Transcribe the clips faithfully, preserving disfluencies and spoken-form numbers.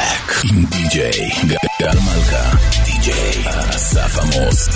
Back עם די-ג'יי גל מלכה, די-ג'יי אסף עמוס.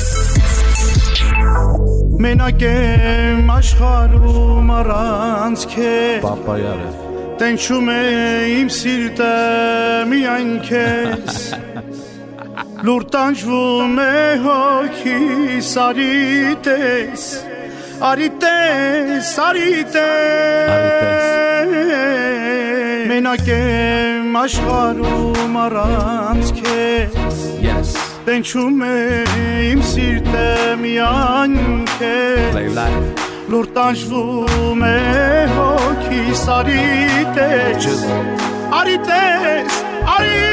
מנגן աշխարհում առանց քեզ Պապա յարը Տենչում է իմ սիրտը միայն քեզ Լուր տանջվում է հոգիս արի տես Արի տես, արի տես Մենակ եմ աշխարհում առանց քեզ Yes Տենչում է իմ սիրտը միայն քեզ Լուր տանջվում է հոգիս արի տես Արի տես, արի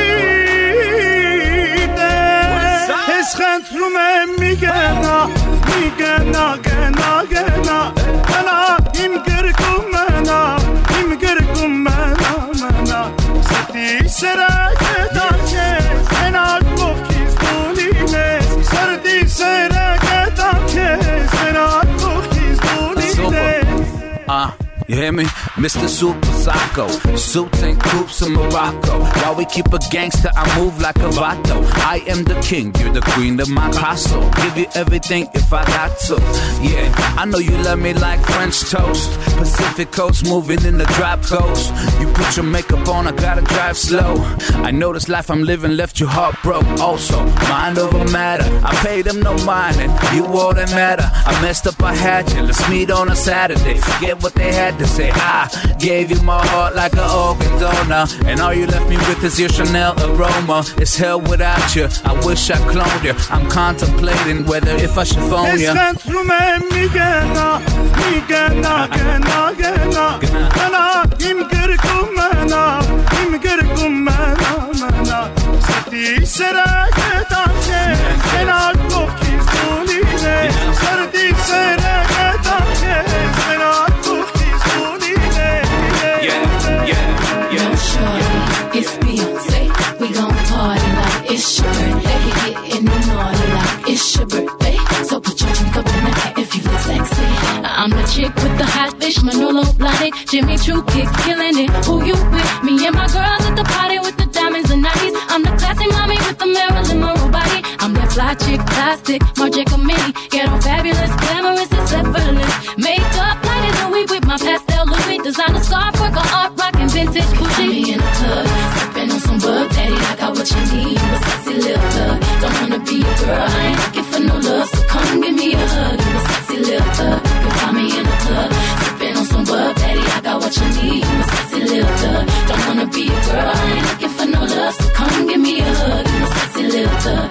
տես Ես խնդրում եմ մի գնա, մի գնա, գնա, գնա Մնա, իմ գրկում մնա, իմ գրկում մնա, մնա Սրտի սերը կետար քեզ, մենակ ովքից դու լինես Սրտի սերը կետար քեզ, մենակ ովքից դու լինես Uh, you hear me? Mister Super Psycho Suits and coops in Morocco While we keep a gangster, I move like a vato I am the king, you're the queen of my castle Give you everything if I got to Yeah, I know you love me like French toast Pacific coast, moving in the drop coast You put your makeup on, I gotta drive slow I know this life I'm living left you heartbroken Also, mind over matter I paid them no mind and you all that matter I messed up, I had you, let's meet on a Saturday Forget what they had to say I gave you my heart like an organ donor And all you left me with is your Chanel aroma It's hell without you, I wish I cloned you I'm contemplating whether if I should phone you Ես խնդրում եմ մի գնա, մի գնա, գնա, գնա Մնա, իմ գրկում մնա, իմ գրկում մնա, մնա Սրտի սերը կետար քեզ, մենակ ովքից դու լինես Սրտի սերը կետար քեզ, մենակ ովքից դու լինես Yeah, yeah, yeah No shorty, it's Beyonce We gon' party like it's your birthday Getting naughty like it's your birthday So put your drink up in the back if you look sexy I'm the chick with the hot fish, Manolo Blahnik Jimmy Choo kicks killing it, who you with? Me and my girls at the party with the diamonds and nineties I'm the classy mommy with the Marilyn Monroe body I'm that fly chick, plastic, Marc Jacobini Get on fabulous, glamorous, it's effortless Makeup lighter than we with my pastel Louis Designer scarf, work on art, rockin' vintage Gucci Me in the club, sippin' on some bug daddy I got what you need, you a sexy little thug Don't wanna be a girl, I ain't looking for no love So come give me a hug, you a sexy little thug You find me in the club, sippin' on some bug daddy I got what you need, you a sexy little thug Don't wanna be a girl, I ain't looking for no love So come give me a hug, you a sexy little thug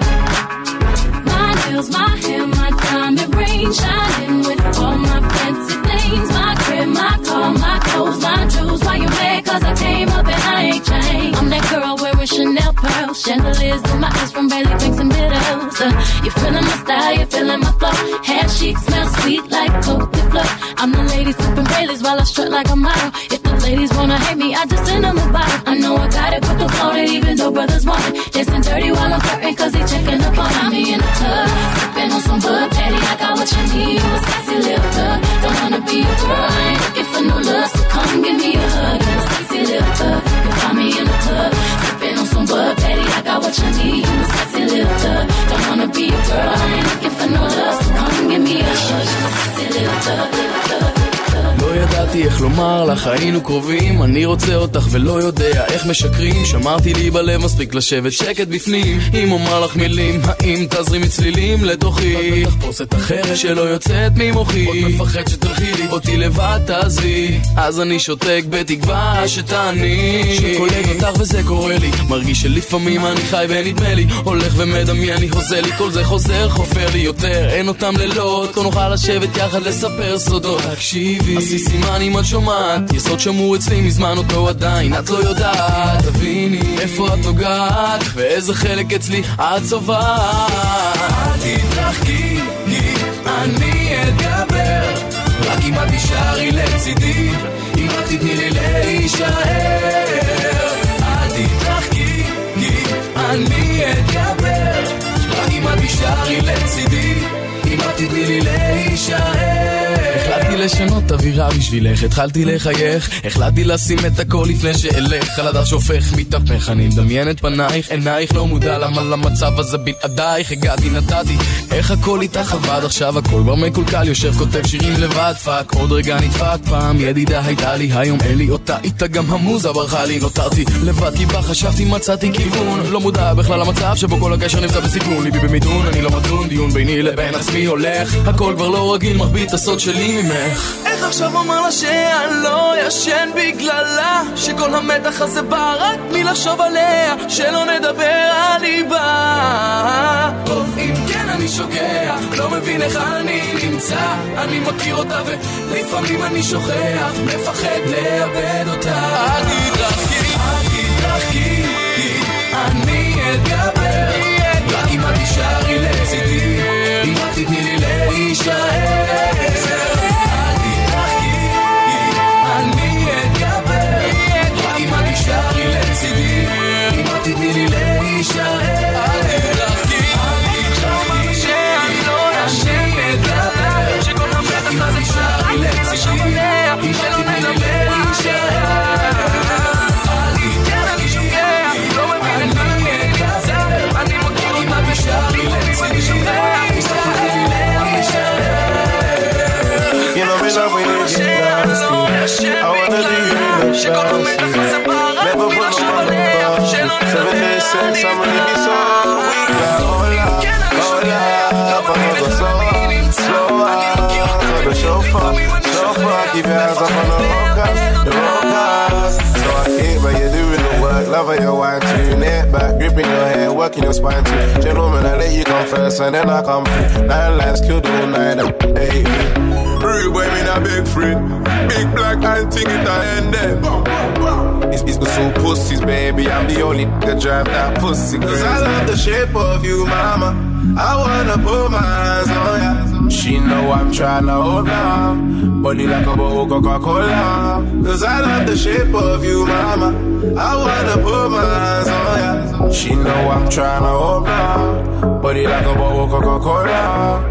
My nails, my hair, my diamond ring Shining with all my fancy things My crib, my car, my clothes, my jewels Why you mad? Cause I came up and I ain't changed I'm that girl wearing Chanel pearls Chandeliers in my eyes from Bailey Banks and Biddles uh, You feeling my style, you feeling my flow Hair chic, smell sweet like Cote d'Ivoire I'm the lady sipping Baileys while I strut like a model If the ladies wanna hate me, I just send them a bottle I know I got it, but don't want it even though brothers want it Dancing dirty while I'm flirting cause they checking up on me in the club Sipping on some bud daddy, I got what you need You a sexy little thug, don't wanna be a girl I ain't looking for no love, so come give me a hug You a sexy little thug, you find me in the club Sipping on some bud daddy, I got what you need You a sexy little thug, don't wanna be a girl I ain't looking for no love, so come give me a hug You a sexy little thug, little thug לא ידעתי איך לומר לך, היינו קרובים אני רוצה אותך ולא יודע איך משקרים שמרתי לי בלב מספיק לשבת שקט בפנים אם אומר לך מילים, האם תזרי מצלילים לתוכי תחפושת אחרת שלא יוצאת ממוחי עוד מפחד שתלכי לי אותי לבד תעזבי אז אני שותק בתקווה שתעני שקולג אותך וזה קורה לי מרגיש שלפעמים אני חי ונדמה לי הולך ומדמיין לי חוזה לי כל זה חוזר חופר לי יותר אין אותם לילות כה נוכל לשבת יחד לספר סודות תקשיבי עשי סימן אם את שומעת יסוד שמור אצלי מזמן אותו עדיין את לא יודעת תביני איפה את נוגעת ואיזה חלק אצלי את צובעת אל תתרחקי אני אתגבר רק אם את תישארי לצידי אם רק תתני לי להישאר אל תתרחקי אני אתגבר רק אם את תישארי לצידי אם רק תתני לי להישאר החלטתי לשנות אוויר נראה בשבילך, התחלתי לחייך, החלטתי לשים את הכל לפני שאלך, על הדף שופך מתהפך, אני מדמיין את פנייך, עינייך לא מודע למה למצב הזה בלעדייך, הגעתי נתתי, איך הכל איתך עבד, עכשיו הכל כבר מקולקל, יושב כותב שירים לבד, פאק, עוד רגע נדפק, פעם ידידה הייתה לי, היום אין לי אותה, איתה גם המוזה ברחה לי, נותרתי לבד כי בה חשבתי מצאתי כיוון, לא מודע בכלל למצב שבו כל הקשר נמצא בסיכון, ליבי במיתון, אני לא מדון, דיון ביני לבין עצמי הולך, הכל כבר לא רגיל, מרבית הסוד שלי ממך. איך עכשיו אומר לה שאני לא ישן בגללה, שכל המתח הזה בא רק מלחשוב עליה, שלא נדבר על ליבה. טוב אם כן אני שוגע, לא מבין איך אני נמצא, אני מכיר אותה ולפעמים אני שוכח, מפחד לאבד אותה. אל תתרחקי, אל תתרחקי, אני אתגבר, רק אם את תישארי לצידי, אם את תתני לי להישאר. תתני לי להישאר, אל תתרחקי, אל תתרחקי, שאני לא ישן מדבר, שכל המתח הזה יישאר לי לצידי, אם תתני לי להישאר. אל תתן אני שוגע, לא מבין אני אתגזר, אני מכיר אם את יישאר לי לצידי, אם תתני לי להישאר. You know me love when you get nasty, I wanna do you in the past, never put no one above. Seven days sex, I'm gonna be so weak. Hola, hola, vamos a slow, slow up. So the chauffeur, chauffeur, keep your hands up on the rockers, the rockers. So I hate but you're doing the work, love how your wine too, neck back, gripping your hair, working your spine too. Gentlemen, I let you come first and then I come through. Nine lines killed all night, hey. Real boy, me not big friend. Big black and thing it I end there. It's, it's the soul pussies, baby. I'm the only that drive that pussy. Cause I love the shape of you, mama. I wanna put my hands on ya. She know I'm tryna hold on. Body like a bowl of Coca-Cola. Cause I love the shape of you, mama. I wanna put my hands on ya. She know I'm tryna hold on. Body like a bowl of Coca-Cola.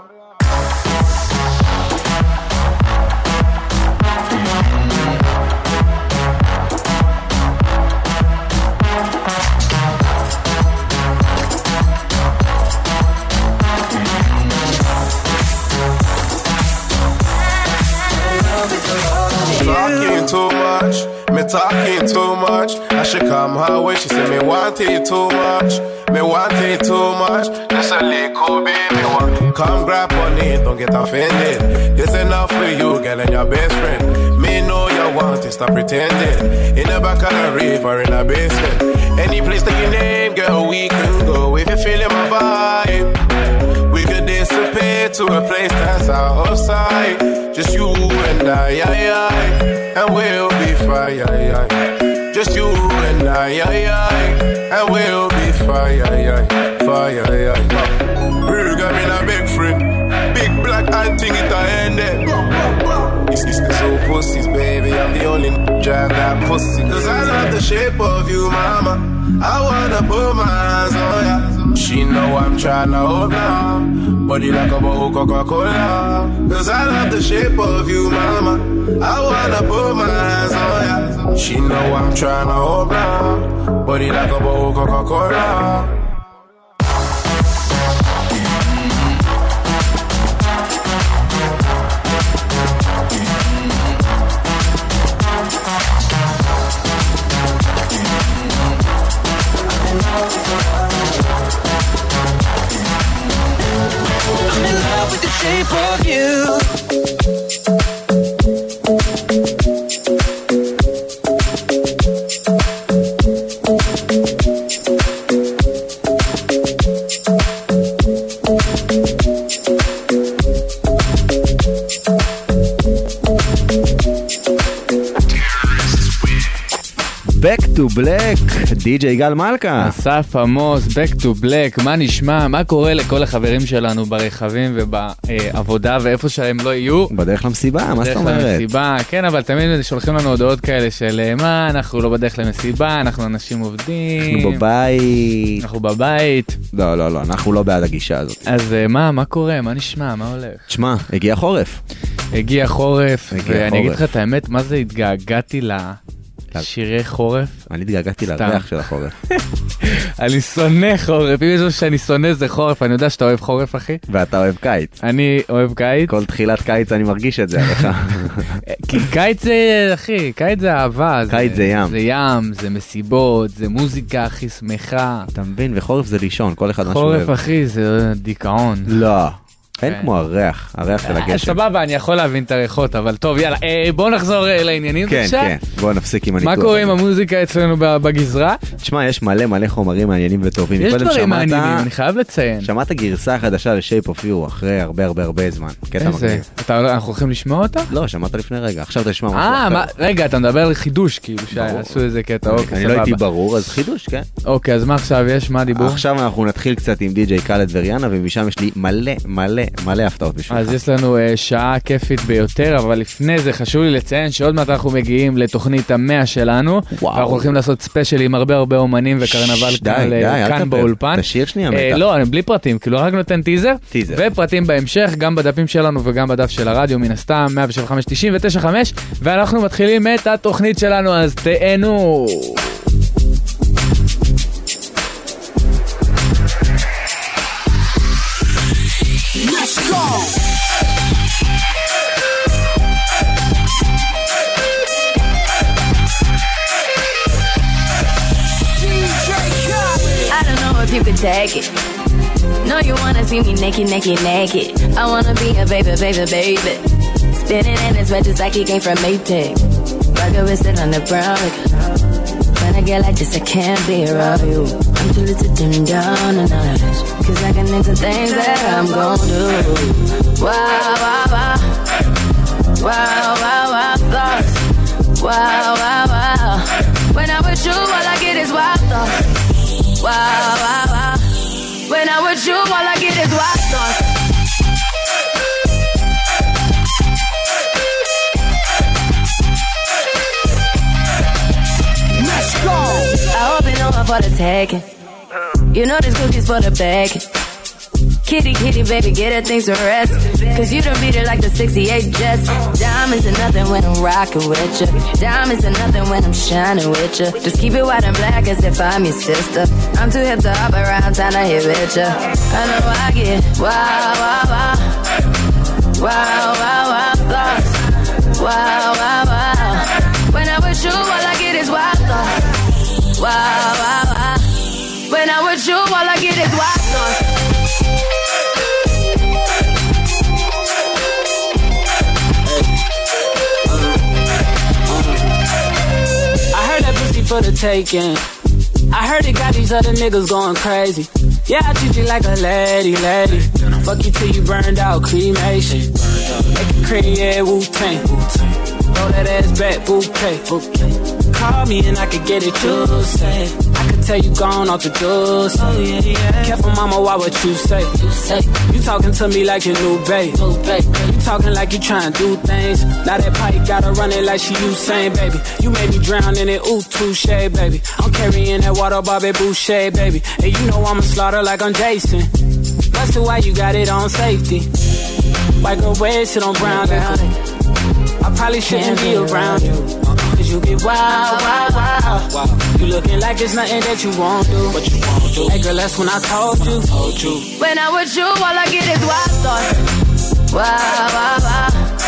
Too much, me talking too much. I should come her way. She said me want it too much, me want it too much. Just a little baby one. Come grab on it, don't get offended. This enough for you, girl, and your best friend. Me know you want it, stop pretending. In the back of the river, in the basement, any place that you name, girl, we can go. If you're feeling my vibe, we could dissipate to a place that's outside. Just you and I, I, I, and we'll be fine. I, I. Just you and I, I, I, and we'll be fine. I, I. Fire, I, I. You got me a big friend, big black and thing it I end it. It's, it's the soul pussies, baby. I'm the only drive that pussy. Cause I love the shape of you, mama. I wanna put my hands on ya. She know I'm tryna hold on. Body like a bowl of Coca-Cola. Cause I love the shape of you, mama. I wanna put my hands on ya. She know I'm tryna hold on. Body like a bowl of Coca-Cola. I'm in love with the shape of you. Back to Black, די-ג'יי גל מלכה. אסף עמוס, Back to Black, מה נשמע? מה קורה לכל החברים שלנו ברכבים ובעבודה ואיפה שהם לא יהיו? בדרך למסיבה, מה זאת אומרת? בדרך למסיבה, כן, אבל תמיד שולחים לנו הודעות כאלה של מה, אנחנו לא בדרך למסיבה, אנחנו אנשים עובדים. אנחנו בבית. אנחנו בבית. לא, לא, לא, אנחנו לא בעד הגישה הזאת. אז מה, מה קורה? מה נשמע? מה הולך? תשמע, הגיע חורף. הגיע חורף, ואני אגיד לך את האמת, מה זה התגעגעתי לשירי חורף? אני התגעגעתי לריח של החורף. אני שונא חורף, אם יש משהו שאני שונא זה חורף, אני יודע שאתה אוהב חורף, אחי. ואתה אוהב קיץ. אני אוהב קיץ. כל תחילת קיץ אני מרגיש את זה, עליך. כי קיץ זה, אחי, קיץ זה אהבה. קיץ זה ים. זה ים, זה מסיבות, זה מוזיקה הכי שמחה. אתה מבין, וחורף זה לישון, כל אחד משהו אוהב. חורף, אחי, זה דיכאון. לא. אין כמו הריח, הריח של הגשם. סבבה, אני יכול להבין את הריחות, אבל טוב, יאללה, בואו נחזור לעניינים. כן, כן, בואו נפסיק עם הניתוח. מה קורה עם המוזיקה אצלנו בגזרה? תשמע, יש מלא מלא חומרים מעניינים וטובים. יש דברים מעניינים, אני חייב לציין. שמעת גרסה חדשה ל-Shape of You אחרי הרבה הרבה הרבה זמן. איזה? אנחנו הולכים לשמוע אותה? לא, שמעת לפני רגע, עכשיו תשמע משהו אחר. רגע, אתה מדבר על חידוש, כאילו, שעשו איזה קטע, אוקיי, אני לא הייתי ברור, אז חידוש, כן. אוקיי, אז מה עכשיו יש? מה הדיבור? עכשיו אנחנו נתחיל קצת עם די-ג'יי קאלד וריאנה, ומשם יש לי מלא מלא מלא הפתעות בשבילך. אז יש לנו uh, שעה כיפית ביותר, אבל לפני זה חשוב לי לציין שעוד מעט אנחנו מגיעים לתוכנית המאה שלנו, וואו. ואנחנו הולכים לעשות ספיישל עם הרבה הרבה אומנים וקרנבל כאן, כאן באולפן. תשאיר שנייה uh, מתח. לא, אני בלי פרטים, כאילו רק נותן טיזר, טיזר. ופרטים בהמשך, גם בדפים שלנו וגם בדף של הרדיו, מן הסתם, מאה שבע חמש תשעים ותשע חמש, ואנחנו מתחילים את התוכנית שלנו, אז תהנו. Let's go! I don't know if you could take it. No, you wanna see me naked, naked, naked. I wanna be a baby, baby, baby. Spinning in his red just like he came from Maytag. Rocket with it on the brown. When I get like this, I can't be around you. I'm too little to dim down a notch. Cause I can into things that I'm gon' do. Wow, wow, wow. Wow, wow, wow, thoughts. Wow, wow, wow. When I'm with you, all I get is wild thoughts. Wow, wow, wow. When I'm with you, all I get is wild thoughts. Let's go! I hope you know I'm for the taking. You know this cookie's for the bag. Kitty, kitty, baby, get her things to rest. Cause you done beat it like the sixty-eight Jets. Diamonds are nothing when I'm rocking with you. Diamonds are nothing when I'm shining with you. Just keep it white and black as if I'm your sister. I'm too hip to hop around town to hit with you. I know I get wow, wow, wow. Wow, wow, wow, thoughts. Wow, wow, wow. When I'm with you, all I get is wild thoughts. Wow, wow, wow. When I'm with you, all I get is wild thoughts. For the taking. I heard it got these other niggas going crazy. Yeah, I treat you like a lady, lady. Fuck you till you burned out, cremation. Make it cream, yeah, Wu-Tang. Throw that ass back, bouquet. Call me and I could get it, you say. I could tell you gone off the doors. Oh yeah, yeah. Careful, mama, why what you say? You say you talking to me like your new babe. You talking like you trying to do things. Now that pipe gotta run it like she Usain, baby. You made me drown in it, ooh, touche, baby. I'm carrying that water, Bobby Boucher, baby. And you know I'ma slaughter like I'm Jason. That's why you got it on safety. White girl wear shit on brown liquor. I probably shouldn't be around you. Cause you get wild, wild, wild. You looking like it's nothing that you won't do. What you won't do. Hey girl, that's when I told you. Told you. When I'm with you, all I get is wild thoughts. Wow, wow, wow.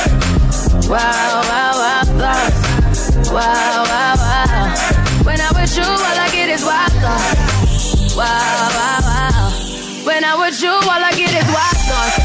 Wow, wow, wow, thoughts. Wow, wow, wow. When I'm with you, all I get is wild thoughts. Wow, wow, wow. When I'm with you, all I get is wild thoughts.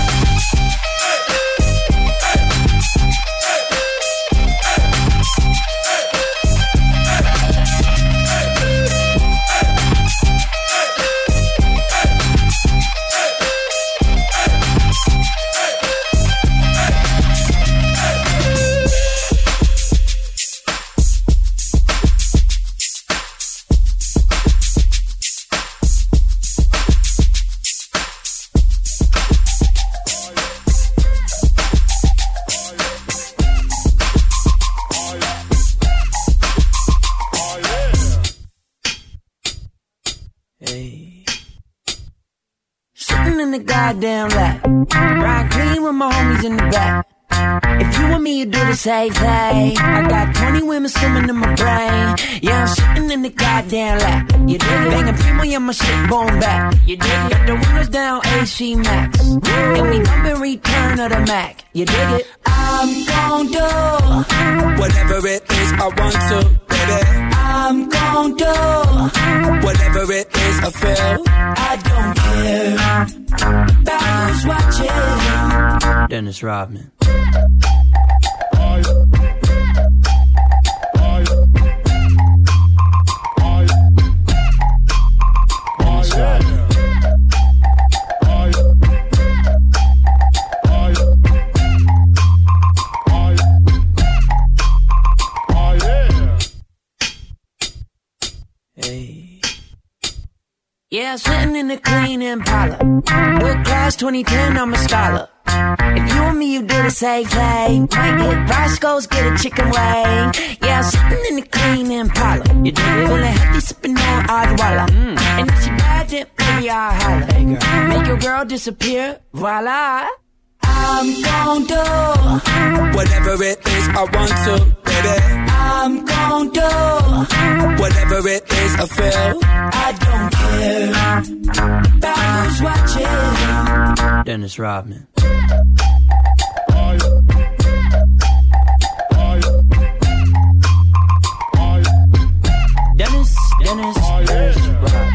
Sitting in the goddamn lap, ride clean with my homies in the back. If you and me, you do the same thing. I got twenty women swimming in my brain. Yeah, I'm sitting in the goddamn lap. You dig it? Banging people, yeah, my shit boom back. You dig it? Got the windows down, A C Max. And we bumpin' Return of the Mac. You dig it? I'm gon' do whatever it is I want to, baby. I'm gon' do whatever it is I feel. I don't care about who's watching. Dennis Rodman. Dennis Rodman. Hey. Yeah, sitting in the clean Impala. With class twenty ten, I'm a scholar. If you and me, you do the same thing. Might get Roscoe's, get a chicken wing. Yeah, sitting in the clean Impala. You do it? Feeling healthy, sipping on Adwala. Mm. And if she bad, then baby, I'll holler. Hey, girl. Make your girl disappear, voila. I'm gon' do whatever it is I want to, baby. I'm gon' do whatever it is I feel. I don't care about who's watching. Dennis Rodman. Dennis, Dennis, Dennis Rodman.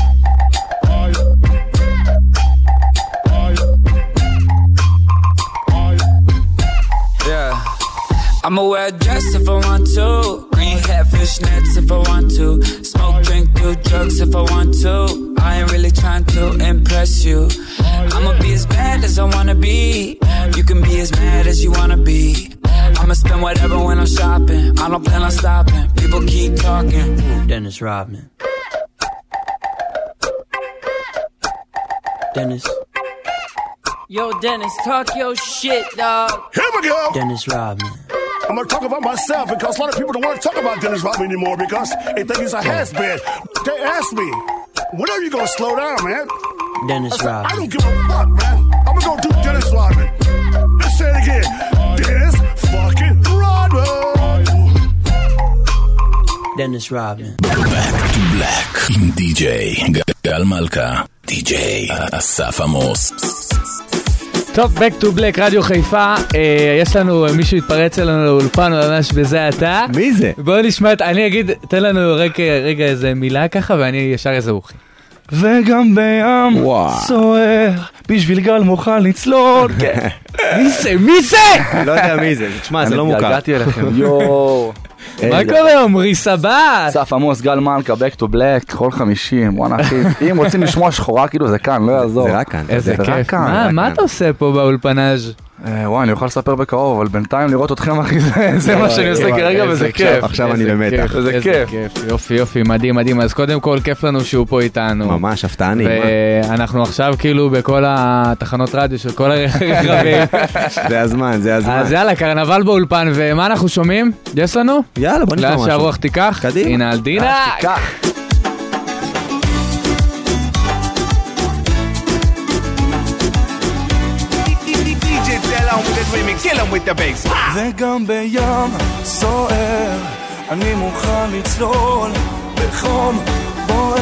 Yeah, I'ma wear a dress if I want to. Green hat, fishnets if I want to. Smoke, drink, do drugs if I want to. I ain't really trying to impress you. I'ma be as bad as I wanna be. You can be as mad as you wanna be. I'ma spend whatever when I'm shopping. I don't plan on stopping. People keep talking. Dennis Rodman. Dennis. Yo, Dennis, talk your shit, dog. Here we go. Dennis Rodman. I'm gonna talk about myself because a lot of people don't want to talk about Dennis Rodman anymore because they think he's a has-been. They asked me, when are you gonna slow down, man? Dennis I said, Rodman. I don't give a fuck, man. I'm gonna go do Dennis Rodman. Let's say it again. Dennis fucking Rodman. Dennis Rodman. Back to Black עם די-ג'יי גל מלכה, די-ג'יי אסף עמוס. טוב, Back to Black, רדיו חיפה. אה, יש לנו, מישהו התפרץ אלינו לאולפן, ממש בזה אתה. מי זה? בואו נשמע, אני אגיד, תן לנו רגע, רגע איזה מילה ככה, ואני ישר איזה אוכי. וגם בים סוער, בשביל גל מוכל לצלול. מי זה? מי זה? לא יודע מי זה, תשמע, זה לא מוכר. אני התגעגעתי אליכם, יואו. מה קורה, עומרי סבת? אסף עמוס, גל מלכה, Back to Black, כל חמישים, וואנה אחי. אם רוצים לשמוע שחורה, כאילו זה כאן, לא יעזור. זה רק כאן. איזה כיף. מה אתה עושה פה באולפנאז'? וואי, אני אוכל לספר בקרוב, אבל בינתיים לראות אתכם אחי, זה מה שאני עושה כרגע וזה כיף. עכשיו אני במתח. זה כיף. יופי, יופי, מדהים, מדהים. אז קודם כל, כיף לנו שהוא פה איתנו. ממש, הפתעני. ואנחנו עכשיו כאילו בכל התחנות רדיו של כל הרכבים. זה הזמן, זה הזמן. אז יאללה, קרנבל באולפן, ומה אנחנו שומעים? יש לנו? יאללה, בוא נשמע משהו. לאן שהרוח תיקח? קדימה. הנה, על דינה. תיקח. וגם בים סוער, אני מוכן לצלול בחום בוער.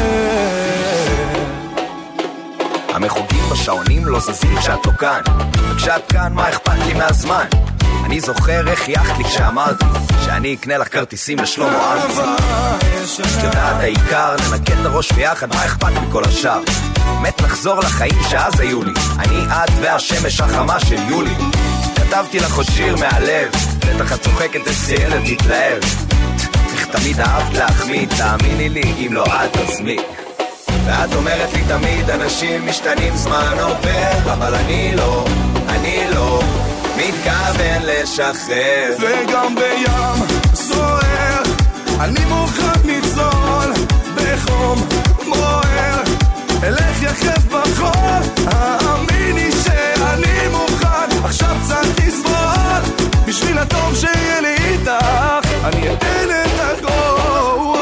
המחוגים בשעונים לא זזים כשאת לא כאן, וכשאת כאן מה אכפת לי מהזמן? אני זוכר איך יחת לי כשאמרתי שאני אקנה לך כרטיסים לשלמה ארצי. את יודעת העיקר, ננקד את הראש ביחד, מה אכפת מכל השאר? מת לחזור לחיים שאז היו לי, אני את והשמש החמה של יולי. כתבתי לך שיר מהלב, בטח את צוחקת אצלת תתלהב. איך תמיד אהבת להחמיא, תאמיני לי, אם לא את תזמי. ואת אומרת לי תמיד אנשים משתנים, זמן עובר, אבל אני לא, אני לא מתכוון לשחרר. וגם בים סוער, אני מוכן לצלול בחום בוער. אלך יחף בחול, האמיני שאני מוכן. עכשיו צריך לסבול, בשביל הטוב שיהיה לי איתך, אני אתן את הכל.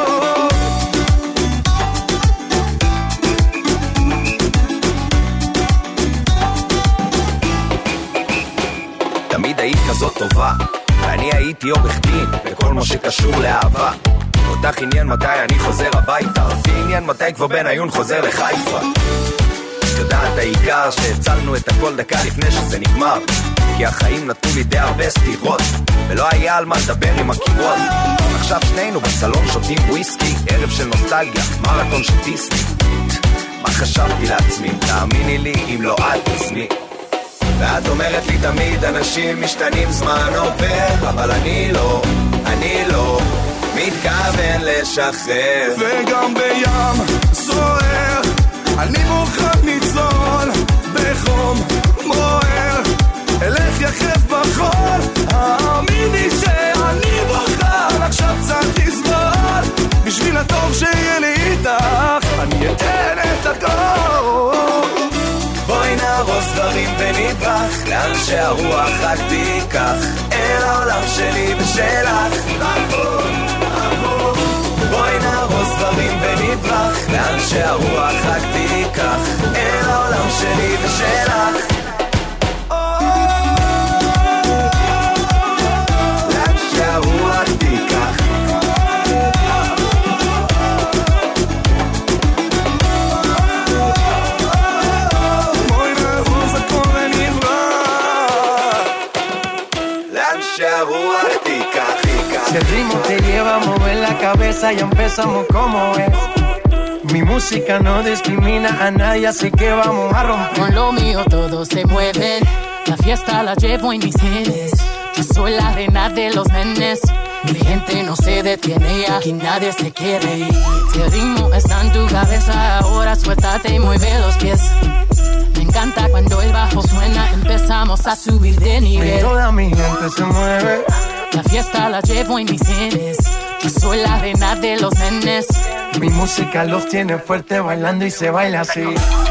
תמיד היית זאת טובה. ואני הייתי עורך דין בכל מה שקשור לאהבה. אותך עניין מתי אני חוזר הביתה, אותי עניין מתי כבר בן עיון חוזר לחיפה. יודעת העיקר שהצלנו את הכל דקה לפני שזה נגמר, כי החיים נתנו לי די הרבה סתירות ולא היה על מה לדבר עם הקירות. עכשיו שנינו בסלון שותים וויסקי, ערב של נוסטלגיה, מרתון של דיסני. מה חשבתי לעצמי, תאמיני לי אם לא את תזמי. ואת אומרת לי תמיד אנשים משתנים, זמן עובר, אבל אני לא, אני לא מתכוון לשחרר. וגם בים סוער אני מוכן לצלול בחום בוער, אלך יחף בחול, האמיני שאני בוחר עכשיו קצת לסבול, בשביל הטוב שיהיה לי איתך אני אתן את הכל. בואי נהרוס דברים ונברח לאן שהרוח רק תיקח, אל העולם שלי ושלך. בואי נהרוס דברים ונברח לאן שהרוח רק תיקח, אל העולם שלי ושלך. לאן שהרוח תיקח. בואי נהרוס הכל ונברח לאן שהרוח תיקח. Si el ritmo te lleva a mover la cabeza, ya empezamos como es. Mi música no discrimina a nadie, así que vamos a romper. Con lo mío todos se mueven, la fiesta la llevo en mis genes. Yo soy la reina de los nenes, mi gente no se detiene y aquí nadie se quiere ir. Si el ritmo está en tu cabeza, ahora suéltate y mueve los pies. Me encanta cuando el bajo suena, empezamos a subir de nivel. Y toda mi gente se mueve. La fiesta la llevo en mis genes, yo soy la reina de los nenes. Mi música los tiene fuerte bailando y se baila así.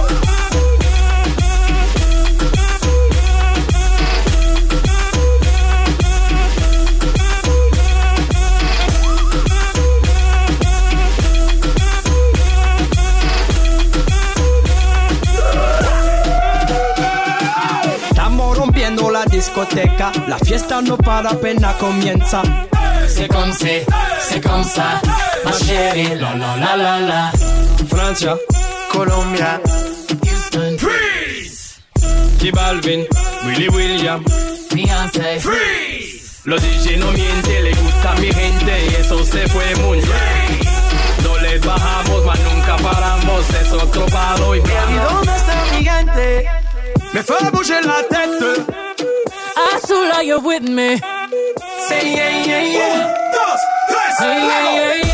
La discoteca, la fiesta no para, apenas comienza. C'est comme c'est, c'est comme ça, ma chérie, la la la la la. Francia, Colombia, Houston, freeze. J Balvin, Willy William, Beyoncé, freeze. Los D J no mienten, le gusta a mi gente y eso se fue muy bien. No les bajamos, mas nunca paramos, es otro palo y blanco. ¿Y dónde está mi gente? Me fue a bouger la tête. Azul, are you with me? Say yeah, yeah, yeah. Un, dos, tres, hey, yeah, yeah, yeah.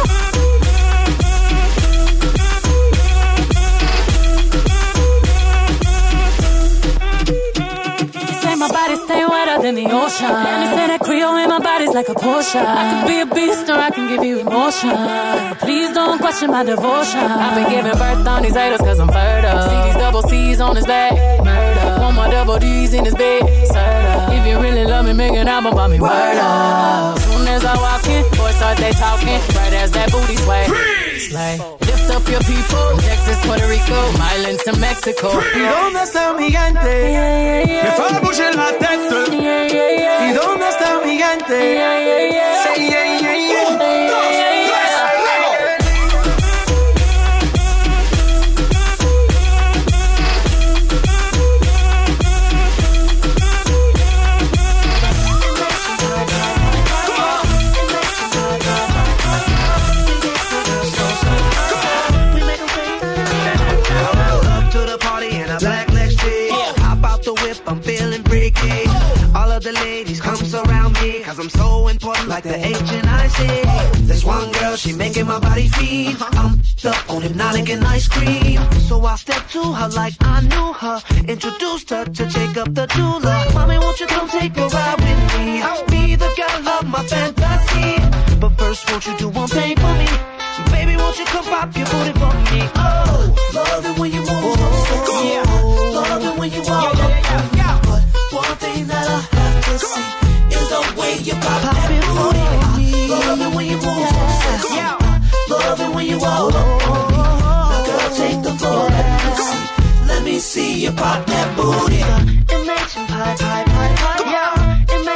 You say my body stay wetter than the ocean. And you say that Creole in my body's like a potion. I can be a beast or I can give you emotion, but please don't question my devotion. I've been giving birth on these haters cause I'm fertile. See these double C's on his back, murder. Want my double D's in his bed, if you really love me, make an album about me, word up. Soon as I walk in, boys start they talking, right as that booty sway. Slay. Lift up your people, from Texas, Puerto Rico, Islands to Mexico. ¿Y dónde está mi gente? Yeah, yeah, yeah. Me fue a bouger la tête. Yeah, yeah, yeah. ¿Y dónde está mi gente? Yeah, yeah, yeah. Say yeah, yeah, yeah. Un, dos, tres, luego. I'm feeling freaky. All of the ladies come surround me, cause I'm so important like the H and I C. There's one girl, she making my body feel I'm up on hypnotic and ice cream. So I stepped to her like I knew her, introduced her to Jacob the jeweler. Mommy, won't you come take a ride with me? I'll be the girl of my fantasy. But first, won't you do one thing for me? Baby, won't you come pop your booty for me? Oh, love it when you move. Oh, yeah. Love it when you walk. But one thing that I have to see is the way you pop that booty. Love it when you move. Love it when you walk. Now girl, take the floor. Let me see you pop that booty. Imagine pie, pie, pie, pie. Yeah.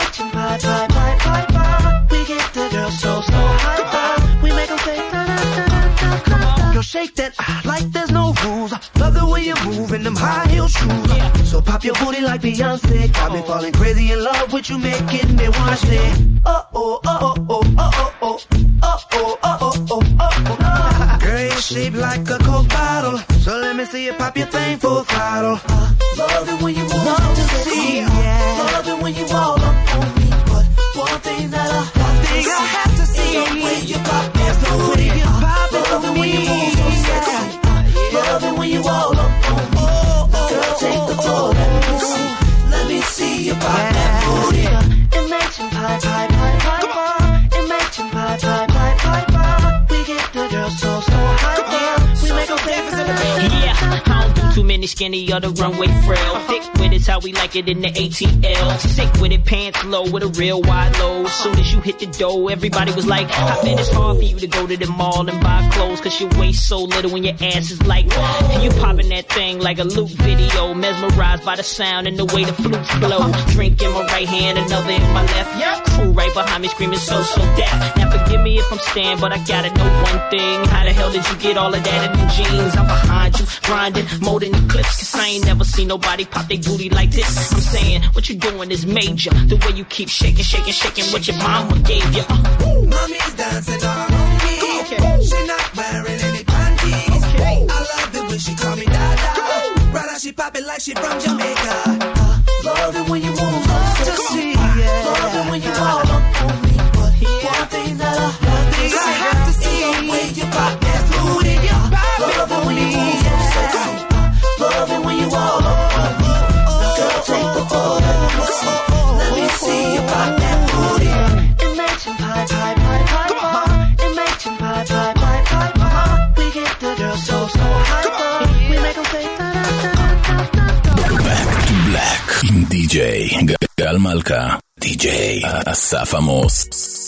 shake that like there's no rules. Love the way you move in them high heel shoes. So pop your booty like Beyonce. Got me falling crazy in love with you, making me wanna say, oh oh oh oh oh oh oh oh oh oh oh oh oh. Girl, you're shaped like a Coke bottle, so let me see you pop your thing full throttle. Uh, love it when you walk to see, yeah. Love it when you all up on me, but one thing that I, one thing I have to see is the way you pop that booty. You pop it, love it when you move so sexy. Love it when you all up on me. Girl, take the floor, let me see. Let me see you pop that booty. Imagine pie, pie, pie, pie, pie. Imagine pie, pie, pie, pie, pie. We get the girls so, so high. We make them famous in the building. Yeah, I don't do too many skinny or the runway frail. Thick with it's how we like it in the A T L. Sick with it, pants low with a real wide low. Soon as you hit the dough, everybody was like, I bet it's hard for you to go to the mall and buy clothes, cause your waist so little and your ass is like, and you popping that thing like a loop video. Mesmerized by the sound and the way the flutes blow. Drink in my right hand, another in my left. Crew right behind me screaming so, so deaf. Now forgive me if I'm staying, but I gotta know one thing. How the hell did you get all of that in them jeans? I'm behind you, grinding, more than eclipse, cause I ain't never seen nobody pop their booty like this. I'm saying, what you doing is major. The way you keep shaking, shaking, shaking what your mama gave you. Uh. Mommy's dancing all on me. Okay. She not wearing any panties. Okay. I love the way she call me Dada. Brother, she pop it like she from Jamaica. Uh, love it when you move up to see. Yeah. Love it when you all up on me. But yeah. One thing that I, one thing I have to see is the way you pop that booty. Love it when you move so sexy. Love it when you all up on me. Girl, take the floor, let me see. Let me see you pop that booty. Imagine pie, pie, pie, pie, pie. Imagine pie, pie, pie, pie, pie. We get the girls so, so high. We make them say da da da da da. Back to Black עם די-ג'יי גל מלכה, די-ג'יי אסף עמוס.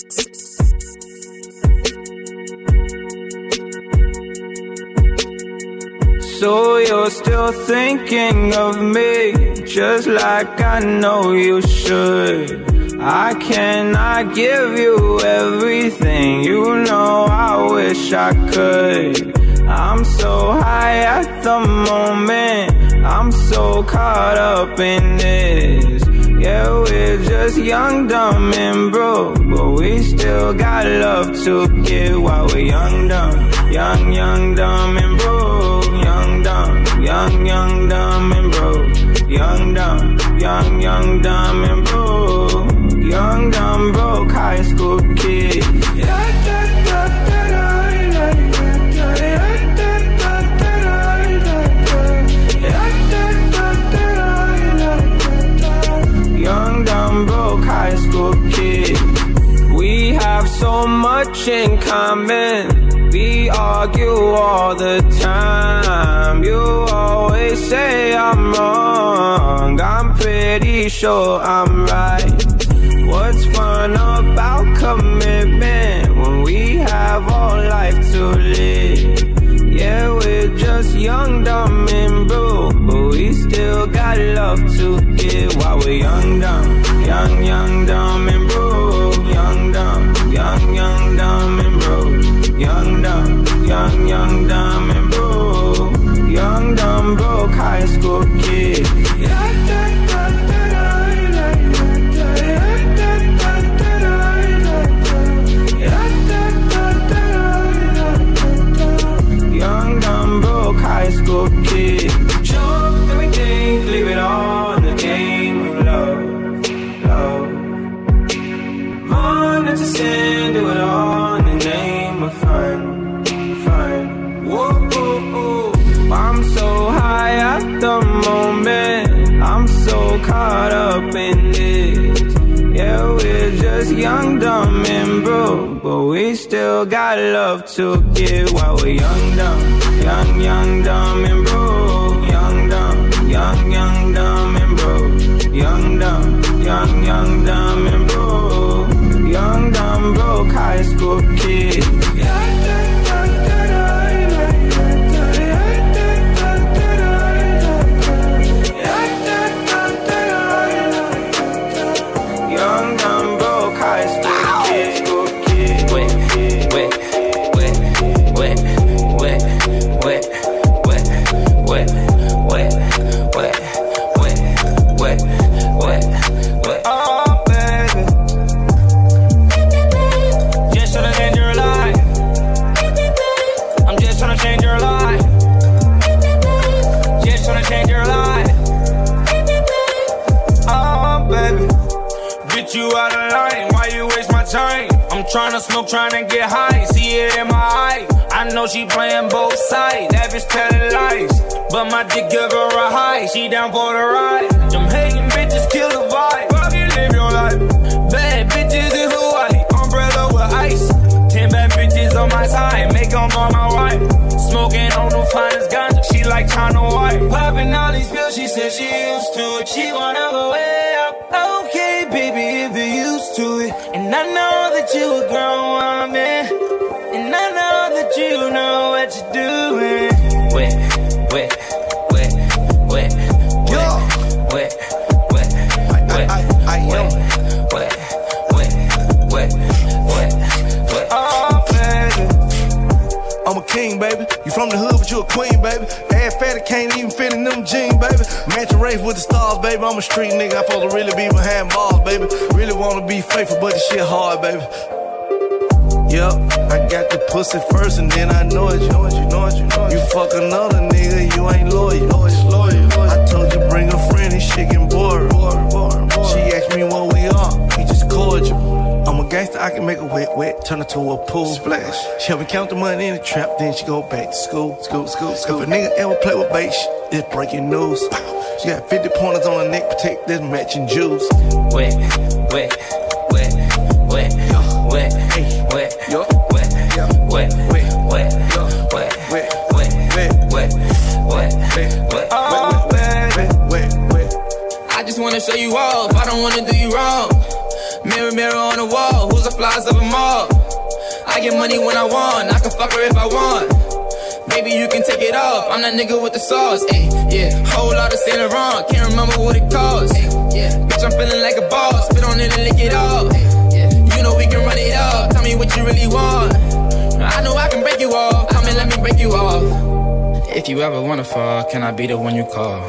So you're still thinking of me, just like I know you should. I cannot give you everything, you know I wish I could. I'm so high at the moment, I'm so caught up in this. Yeah, we're just young, dumb, and broke, but we still got love to give while we're young, dumb, young, young, dumb, and broke. Young, dumb, young, young, dumb, and broke. Young, dumb, young, young, dumb, and broke. Young, dumb, broke high school kid. Young, dumb, broke high school kid. We have so much in common. We argue all the time. You always say I'm wrong. I'm pretty sure I'm right. What's fun about commitment when we have all life to live? Yeah, we're just young, dumb, and broke, but we still got love to give while we're young, dumb, young, young, dumb, and broke. Young, dumb, young, young, dumb, and broke. Young, dumb, young, young, dumb, and broke. Young, dumb, broke high school kid. Young, dumb, broke high school kid. Drop everything, leave it all in the game of love, love. Run into sin, do it all in the name of fun, fun. Whoa, oh, oh. I'm so high at the moment, I'm so caught up in this. Yeah, we're just young, dumb, and broke, but we still got love to give while we're young, dumb, young, young, dumb, and broke. Young, dumb, young, young, dumb, and broke. Young, dumb, young, young, dumb, and broke. Young, dumb, broke high school kid. Young, dumb, broke high school kid. Wet, wet, wet, wet, wet. change your life. Just tryna change your life. Oh, baby. Bitch, you out of line. Why you waste my time? I'm tryna smoke, tryna get high. See it in my eye. I know she playing both sides. That bitch telling lies. But my dick give her a high. She down for the ride. Them hating bitches kill the vibe. Fuck it, live your life. Bad bitches in Hawaii. Umbrella with ice. Ten bad bitches on my side. Make them all my wife. Smoking on the finest ganja. She like China White. Popping all these pills. She said she used to it. She wanna go way up. Okay, baby, if you're used to it. And I know that you a grown woman. And I know that you know what you're doing. Wet, wet, wet, wet, wet, wet, wet, wet, wet, wet, wet, wet, wet, wet. Oh, baby. I'm a king, baby. You from the hood, but you a queen, baby. Ass fatty can't even fit in them jeans, baby. Mansion race with the stars, baby. I'm a street nigga. I'm supposed to really be behind bars, baby. Really wanna be faithful, but this shit hard, baby. Yup, I got the pussy first and then I know it, you know it, you know it, you know it. You fuck another nigga, you ain't loyal, loyal, loyal. I told you bring a friend, this shit getting bored. She asked me what we are, we just cordial. I'm a gangster, I can make a wet, wet, turn it to a pool splash. She help me count the money in the trap, then she go back to school, school, school, school. If a nigga ever play with bait, it's breaking news. She got fifty pointers on her neck, protect this matching jewels. Wet, wet, wet, wet, wet, hey, wet, yo, wet, wet, wet, wet, wet, wet, wet, wet, wet, wet, wet, oh, wet, wet, wet. I just wanna show you off, I don't wanna do you wrong. Mirror, mirror on the wall, who's the flies of them all? I get money when I want, I can fuck her if I want. Maybe you can take it off, I'm that nigga with the sauce, ayy, yeah. Whole lot of Saint Laurent, can't remember what it costs, ayy, yeah. Bitch, I'm feeling like a boss, spit on it and lick it off, ayy, yeah. You know we can run it up, tell me what you really want. I know I can break you off, come and let me break you off. If you ever wanna fall, can I be the one you call?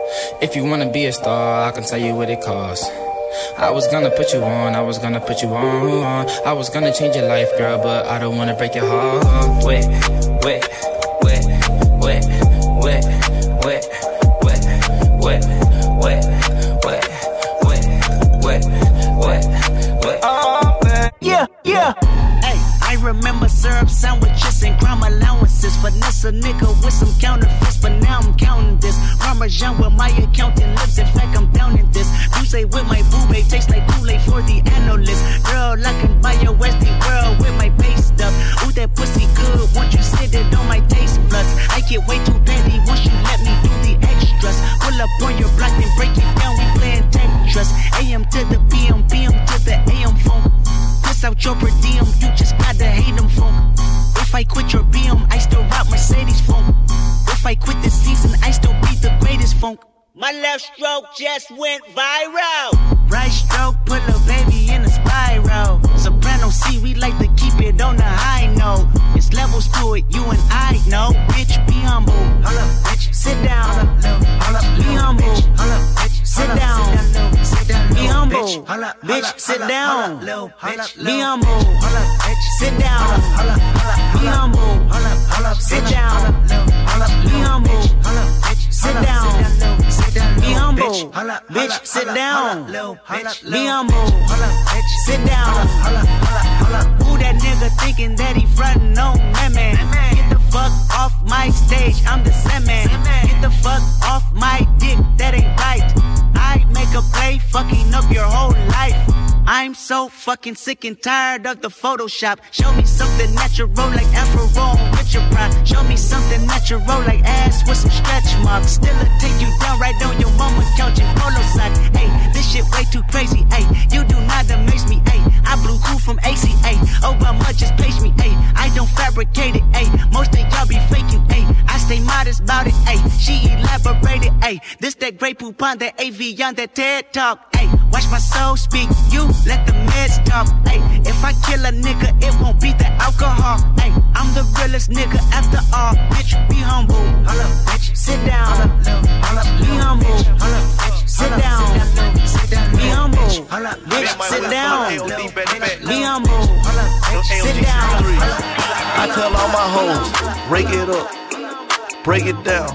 If you wanna be a star, I can tell you what it costs. I was gonna put you on, I was gonna put you on. I was gonna change your life, girl, but I don't wanna break your heart. Wet, wet, wet, wet, wet, wet, wet, wet, wet, wet, wet, wet, wet, wet. Oh, man. Yeah, yeah. Hey, I remember syrup sandwiches and crime allowances. Finesse a nigga with some counterfeits, but now I'm counting this. Parmesan with my accountant lips, in fact I'm down in this. You say with my boo babe, tastes like Kool-Aid for the analyst. Girl, I can buy your Westie world with my base stuff. Ooh, that pussy good, won't you sit it on my taste buds? I get way too petty once you let me do the extras. Pull up on your block and break it down, we playing Tetris. A M to the P M, P M to the A M phone. Piss out your per diem, you just gotta hate them phone. If I quit your B M, I still rock Mercedes phone. If I quit this season, I still be the greatest funk. My left stroke just went viral. Right stroke put a baby in a spiral. Soprano C, we like to keep it on the high note. It's levels to it, you and I know. Bitch, be humble. Hold up, bitch. Sit down. Hold up, be humble. Hold up, bitch. Sit down. Be humble. Bitch, sit down. Be humble. Sit down. Be humble. Sit down. Be humble. Sit down. Be humble. Bitch, sit down. Be humble. Sit down. Who that nigga thinking that he frontin' on that man? Get the fuck off my stage, I'm the Sandman. Get the fuck off my dick, that ain't right. I make a play, fucking up your whole life. I'm so fucking sick and tired of the Photoshop. Show me something natural like Afro with your pride. Show me something natural like ass with some stretch marks. Still a take you down right on your mama couch in polo socks. Hey, this shit way too crazy. Hey, you do not amaze me. Hey, I blew cool from A C A. Obama just page me. Hey, I don't fabricate it. Hey, most of y'all be faking. Hey, I stay modest about it. Hey, she elaborated. Hey, this that great poop on that A V on that TED Talk. Hey, watch my soul speak. You let the meds talk. Hey, if I kill a nigga, it won't be the alcohol. Hey, I'm the realest nigga after all. Bitch, be humble. Hold up, bitch. Sit down. Hold up, be humble. Hold up, bitch. Sit down. Be humble. Bitch, sit down. Be humble. Sit down. I tell all my hoes, break it up, break it down,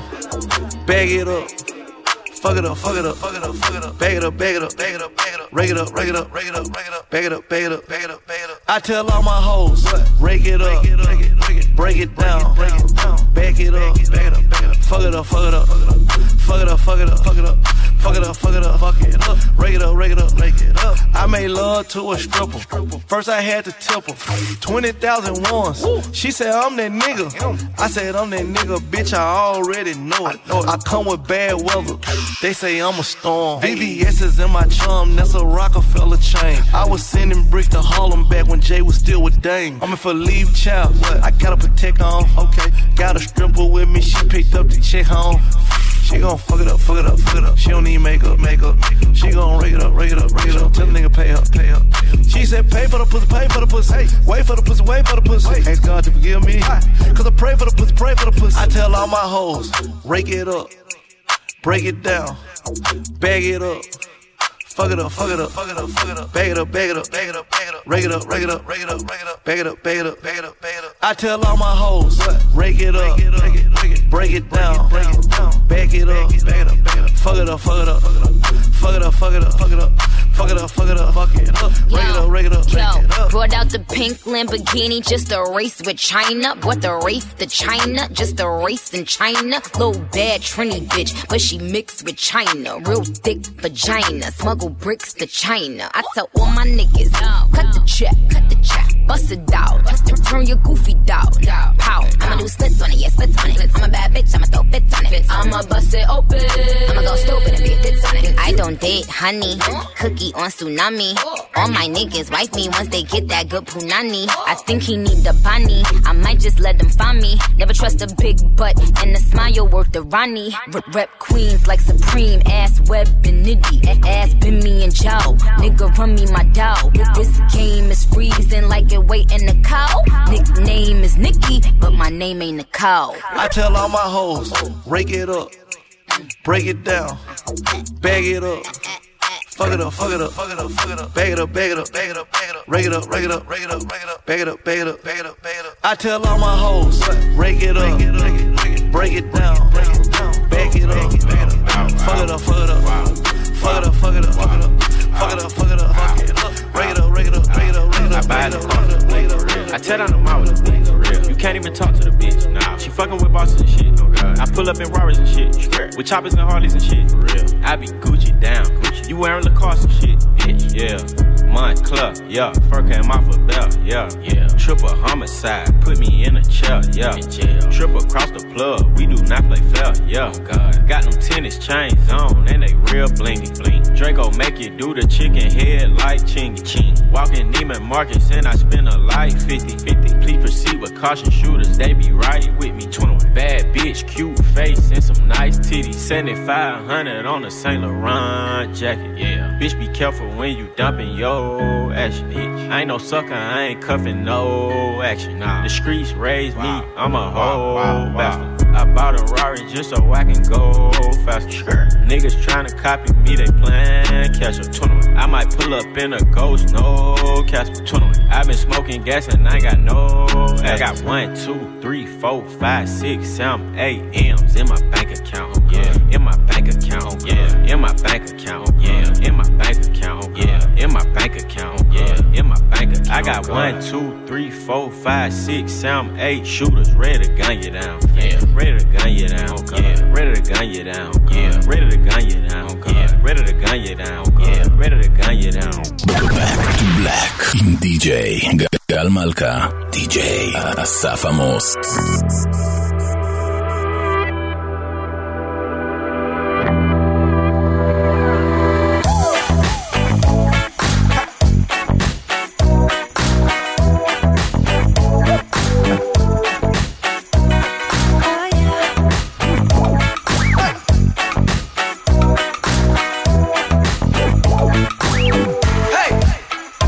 bag it up. Fuck it up, fuck it up, fuck it up, fuck it up. Bag it up, bag it up, bag it up, bag it up. Rake it up, rake it up, rake it up, rake it up. Bag it up, bag it up, bag it up, bag it up. I tell all my hoes, rake it up, break it, break it, break it down, break it down. Bag it up, bag it up, bag it up. Fuck it up, fuck it up, fuck it up, fuck it up, fuck it up, fuck it up, fuck it up, fuck it up, fuck it up. Rake it up, rake it up, rake it up. I made love to a stripper. First I had to tip her twenty thousand ones. She said I'm that nigga. I said I'm that nigga, bitch. I already know it. I come with bad weather. They say I'm a storm. V V S is in my chum, that's a Rockefeller chain. I was sending bricks to Harlem back when Jay was still with Dame. I'm in for leave child, I gotta protect on. Okay, got a stripper with me, she picked up the check home. She gon' fuck it up, fuck it up, fuck it up. She don't need makeup, makeup. She gon' rake it up, rake it up, rake it up. Tell the nigga pay up, pay up. She said pay for the pussy, pay for the pussy. Hey, wait for the pussy, wait for the pussy. Ask God to forgive me, cause I pray for the pussy, pray for the pussy. I tell all my hoes, rake it up, break it down, bag it up. Fuck it up, fuck it up, fuck it up, fuck it up. Bag it up, bag it up, bag it up, bag it up. Rake it up, rake it up, rake it up, rake it up. Bag it up, bag it up, bag it up, bag it up. I tell all my hoes, rake it up, break it, break it, break it down, break it down. Bag it up, bag it up, bag it up. Fuck it up, fuck it up, fuck it up. Fuck it up, fuck it up, fuck it up. Fuck it up, fuck it up, fuck it up. Rake it up, rake it up, rake it up. Brought out the pink Lamborghini just a race with China. What the race to China? Just a race in China. Little bad Trini bitch, but she mixed with China. Real thick vagina. Smuggle bricks to China. I tell all my niggas, cut the check, cut the check. Bust it down, turn your goofy down. Pow, I'ma do splits on it, yeah, splits on it. I'm a bad bitch, I'ma throw fits on it. I'ma bust it open, I'ma go stupid and be a fits on it. I don't date honey, cookie on tsunami. All my niggas wife me once they get that good punani. I think he need the bunny, I might just let them find me. Never trust a big butt and a smile worth the Ronnie. Rep queens like Supreme, ass web and nitty. Ass been me and Joe, nigga run me my dough. This game is freezing like it wait in the cow. Nickname is Nikki, but my name ain't Nicole. I tell all my hoes, rake it up, break it down, bag it up. Fuck it up, fuck it up, fuck it up, fuck it up. Bag it up, bag it up, bag it up, bag it up. Rake it up, rake it up, rake it up, rake it up. Bag it up, bag it up, bag it up, bag it up. I tell all my hoes, rake it up, break it down, bag it up, bag it up. Fuck it up, fuck it up, fuck it up, fuck it up, fuck it up, fuck it up, fuck it up, fuck it up. Rake it up, rake it up, rake it up, rake it up. I buy the car, I tell down the mall with the bitch. You can't even talk to the bitch. Nah, she fucking with bosses and shit. Oh God. I pull up in Rarers and shit, with choppers and Harleys and shit. For real, I be Gucci down, Gucci. You wearing Lacoste and shit, bitch. Yeah, Montclair, yeah. Fur came off a belt, yeah, yeah. Triple homicide, put me in a chair, yeah. In jail. Triple across the plug, we do not play fair, yeah. Oh God. Got them tennis chains on and they real blingy, bling. Draco make you do the chicken head like chingy, ching. Walking Neiman Marcus and I spend a life fifty, fifty. Please proceed with caution, shooters, they be right with me. twenty-one bad bitch, cute face and some nice titties. seventy-five hundred on a Saint Laurent jacket, yeah. Bitch, be careful when you dumping your action, bitch. I ain't no sucker, I ain't cuffing no action. Nah. The streets raised wow. me, I'm a whole wow, wow, bastard. Wow. I bought a Rari just so I can go faster. Sure. Niggas tryna copy me, they plan catch up. twenty-one. I might pull up in a ghost, no Casper. twenty-one. I been smoking gas and I ain't got no action. I got one, two, three, four, five, six, seven, eight M's in my bank account. Yeah, in my bank account. Yeah, in my bank account. Yeah, in my bank account. Yeah, in my bank account. Yeah, in my bank account. I got one, two, three, four, five, six, seven, eight shooters ready to gun you down. Yeah, ready to gun you down. Yeah, ready to gun you down. Yeah, ready to gun you down. Yeah, ready to gun you down. Yeah, ready to gun you down. Back to Black עם די-ג'יי גל מלכה, די-ג'יי אסף עמוס.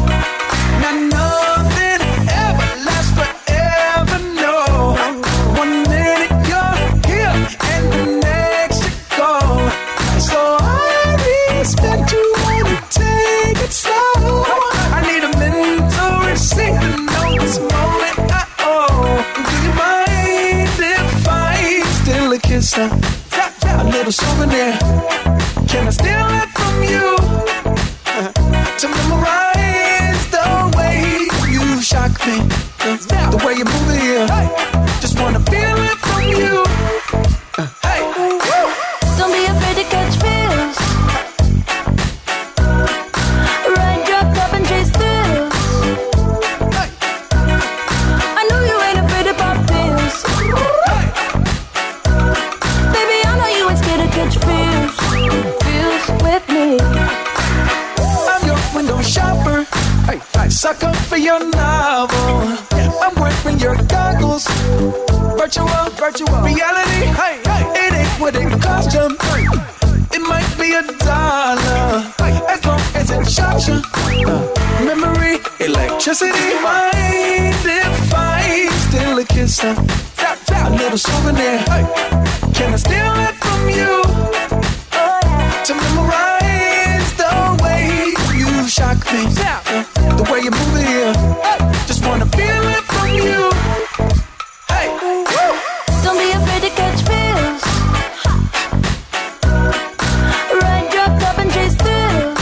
One kiss, a, a little souvenir. Can I steal it from you to memorize the way you shock me, the, the way you move it here? Just wanna feel it from you. Hey, don't be afraid to catch feels. Ride your cup and chase thrills. Hey. I know you ain't afraid to pop pills. Hey. Baby, I know you ain't scared to catch feels. Feels with me. I'm your window shopper. Hey, I suck up for your novel. I'm wearing your goggles. Virtual, virtual reality. Hey, hey, it ain't what it cost you. It might be a dollar, as long as it shocks you. Uh, memory, electricity. Mind if I steal a kiss, a, a little souvenir? Can I steal it from you to memorize the way you shock me, uh, the way you move it here? Just wanna feel it from you. Hey, don't be afraid to catch feels. Ride your cup and chase thrills.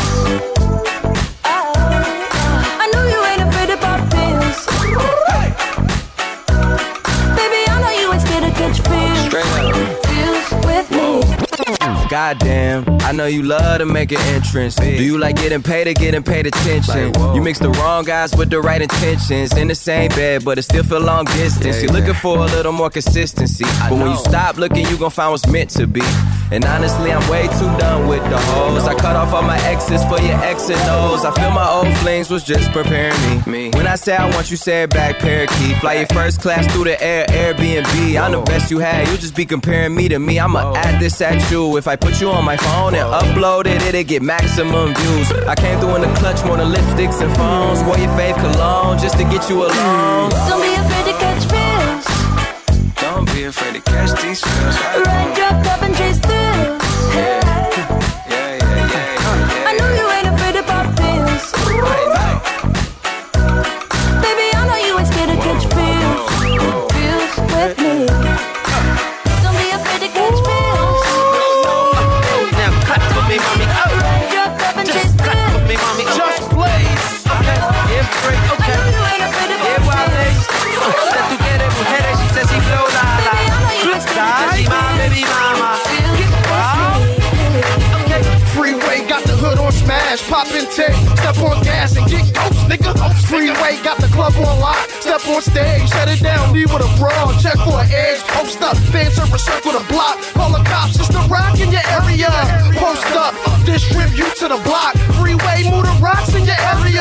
Oh, I know you ain't afraid to pop pills. Hey. Baby, I know you ain't scared to catch feels. Straight up. Feels with me. Goddamn, I know you love to make an entrance. Do you like getting paid or getting paid attention? Like, you mix the wrong guys with the right intentions. In the same bed, but it still feel long distance. Yeah, You're yeah. looking for a little more consistency. I but know. When you stop looking, you gon' find what's meant to be. And honestly, I'm way too done with the hoes. I cut off all my exes for your X and O's. I feel my old flings was just preparing me. me. When I say I want you, say it back, parakeet. Fly your first class through the air, Airbnb. I'm the best you had, you just be comparing me to me. I'ma add this at you. If I put you on my phone and upload it, it'll get maximum views. I came through in the clutch more than lipsticks and phones. Wore your fave cologne just to get you alone. Don't be afraid to catch feels. Don't be afraid to catch these feels. Ride your cup and chase thrills. Yeah, yeah, yeah, yeah, yeah. I know you ain't afraid to pop pills. Baby, I know you ain't scared to catch feels. Feels with me. Don't be afraid to catch feels. Now cut for me, mommy. Ride your cup and chase Just cut for thrills. me, mommy. Just blaze. Okay, yeah, free, okay. I know you ain't afraid to Yeah, pop Wale. pills. Usted tú quieres mujeres, she says she flow la la. Baby, I know you ain't scared to catch She my baby mama. Okay. Freeway got the hood on smash, pop and take, step on gas and get ghost, nigga. Freeway got the club on lock, step on stage, shut it down, leave with a brawl, check for an edge, post up, fans are circle the block, call the cops, it's the rock in your area. Post up, distribute to the block, freeway, move the rocks in your area.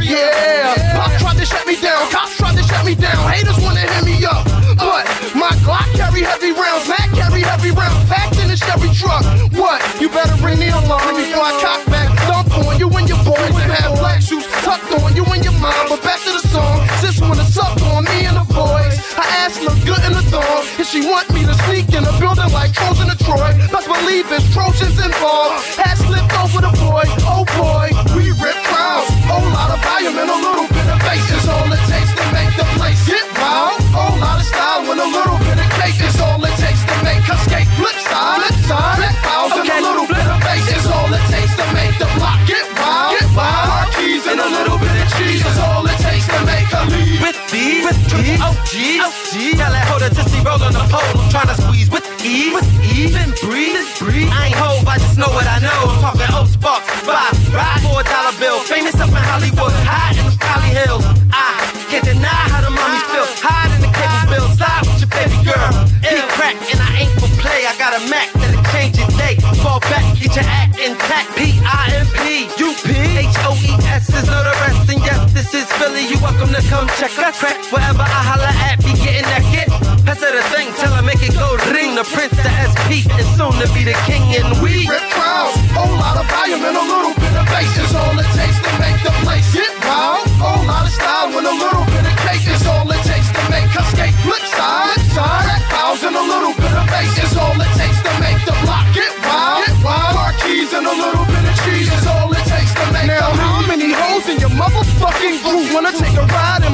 Yeah, Pop tried to shut me down, cops tried to shut me down, haters wanna hit me up, but my Glock carry heavy rounds, Mac carry heavy rounds, packed in a Chevy truck. What? You better ring the alarm before I cock back, dump on you and your boys and have black shoes tucked on you and your mom. But back to the song, sis wanna suck on me and the boys. Her ass look good in the thong, and she want me to sneak in the building like Trojan to Troy. Best believe there's Trojans involved. Hat slipped over the boy, oh boy, we rip crowds. Whole lot of volume and a little bit of bass is all it takes to make the place get wild. Whole lot of style and a little bit of cake is all it takes to make her skate. Flip side, flip side, flip house and a little bit of bass is all it takes to make the block get wild. Get wild. Car keys and a little bit of cheese is all it takes to make her leave. With these, with these, oh geez, oh geez. Tell that hoe to just roll on the pole. I'm trying to squeeze with ease, with ease and breathe, breathe. I ain't hove, I just know what I know. I'm talking old sparks, five, ride for a dollar bill. Famous up in Hollywood, high in the Cali Hills. I can't deny how the mommies feel. Hide in the cable bill, slide with your baby girl. Eat crack and I ain't for play. I got a Mac that'll change your day. Fall back, get your act intact. P I M P U P H O E S is no the rest. And yes, this is Philly. You welcome to come check us. Crack wherever I holla at, be getting that get. Pass her the thing till I make it go ring. The Prince, the S P, and soon to be the king. And we rip crowds, whole lot of volume and a little bit of bass is all it takes to make the place get wild. Whole lot of style and a little bit of cake is all it takes to make her skate. Flip side, flip side, crack house and a little bit of bass is all it takes to make the block get wild. Get wild. Car keys and a little bit of cheese is all it takes to make. Now how many hoes in your motherfucking group wanna take a ride in my eighty-nine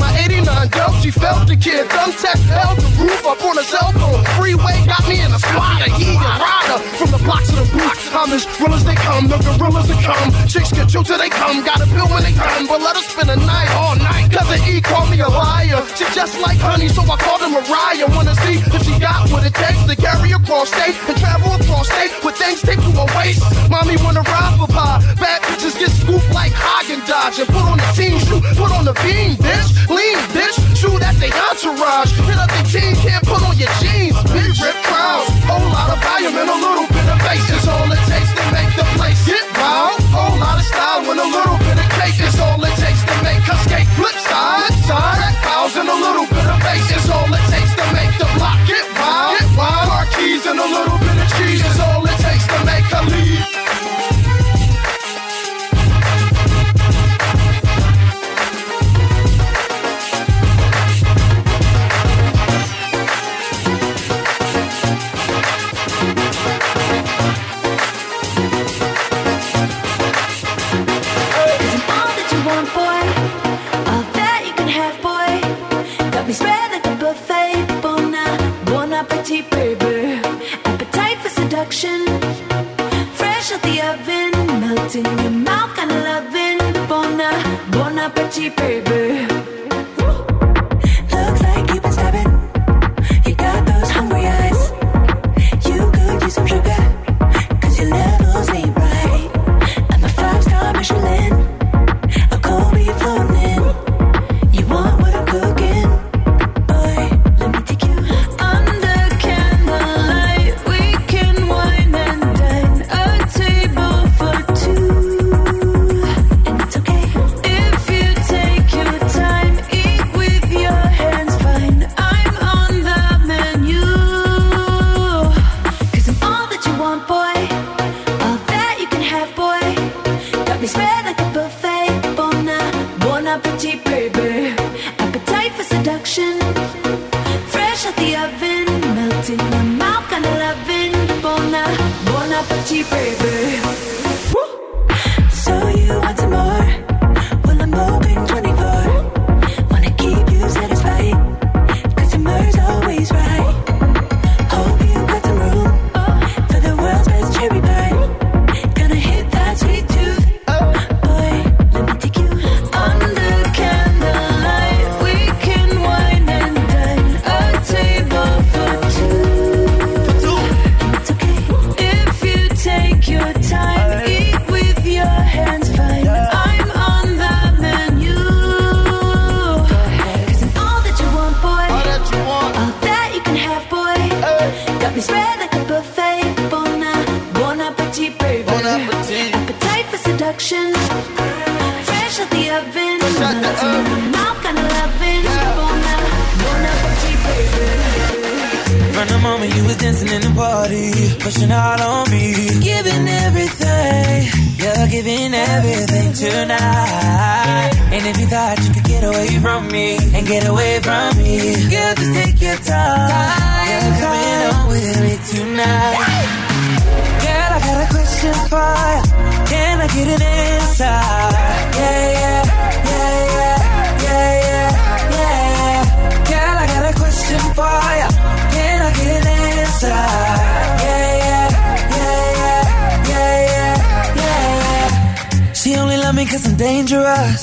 nine dealt, she felt the kid. Done tech held the roof up on his elbow. Freeway got me in a squatter. He a rider from the blocks of the boot. I'm as real as they come, the gorillas that come. Chicks get you till they come, got a bill when they come. But let us spend a night all night. Cousin E called me a liar. She just like honey, so I called her Mariah. Wanna see if she got what it takes to carry across state and travel across state with things taped to her waist. Mommy wanna ride for pie. Bad bitches get scooped like Haagen-Dazs and put on the team shoe, put on the beam, bitch. Lean, bitch. Shoot at the entourage. Hit up the team, can't put on your jeans. Big rip crowds, whole lot of volume and a little bit of bass is all it takes to make the place get wild. Whole lot of style with a little bit of cake is all it takes to make her skate. Flip side, side, that fouls and a little bit of bass is all it takes to make the block get wild. Get wild. Car keys and a little bit of cheese is all it takes to make her leave. Fresh out the oven, melting in your mouth, kind of loving. Bon, bon appetit, baby. Looks like you've been stabbing. You got those hungry eyes. You could use some sugar, cause your levels ain't right. I'm a five-star Michelin, a cold beef floating in. You want what I'm cooking? Boy, let me take you under candlelight. We can wine and dine, a table for two. And it's okay if you take your time, eat with your hands, fine. I'm on the menu, cause I'm all that you want, boy. All that you can have, boy. Got me spread like a buffet. Bon, bon appetit, baby. Appetite for seduction. Fresh out the oven, melting in your mouth, kind of loving. Bon, bon appetit, baby. So you want some more? Well, I'm open twenty-four. Wanna keep you satisfied, cause your mur's always right. Hope you got some room for the world's best cherry pie. Gonna hit that sweet tooth. Boy, let me take you under candlelight. We can wine and dine, a table for two. And it's okay if you take your time, eat with your hands, fine. I'm on the menu, cause I'm all that you want, boy. All that you can have, boy. Got me spread like a buffet. Bon, bon appetit, baby. Appetite for seduction. Fresh out the oven, melting in your mouth, kind of loving. Bon, bon appetit, baby. From the moment you was dancing in the party, pushing out on me, giving everything, you're giving everything tonight. And if you thought you could get away from me and get away from me, girl, just take your time. You're coming on with me tonight. Girl, I got a question for you. Can I get an answer? Yeah, yeah, yeah, yeah, yeah, yeah, yeah. Girl, I got a question for you. Can I get an answer? Yeah, yeah, yeah, yeah, yeah, yeah, yeah. She only love me cause I'm dangerous.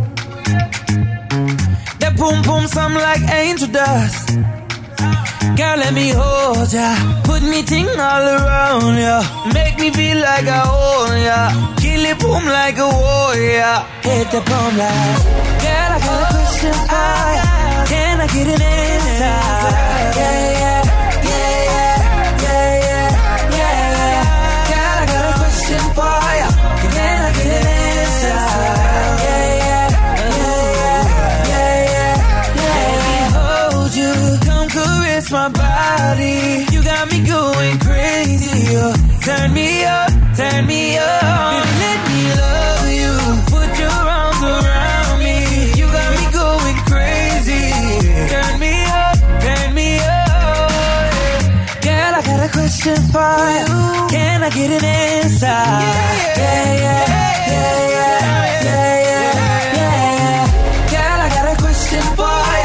That boom boom sound like angel dust. Girl, let me hold ya, put me ting all around ya, make me feel like I own ya, kill it boom like a warrior, hit the boom like. Girl, I got a question for ya, can I get an answer? Yeah, yeah, yeah, yeah, yeah, yeah, yeah. Girl, I got a question for ya, can I get an answer? Yeah, yeah, yeah, yeah, yeah, yeah. Let me hold you, come caress my body. You got me going crazy. Oh. Turn me up, turn me up. Baby, let me love you. Put your arms around me. You got me going crazy. Turn me up, turn me up. Girl, I got a question for you. Can I get an answer? Yeah, yeah, yeah, yeah, yeah, yeah, yeah, yeah. Girl, I got a question for you.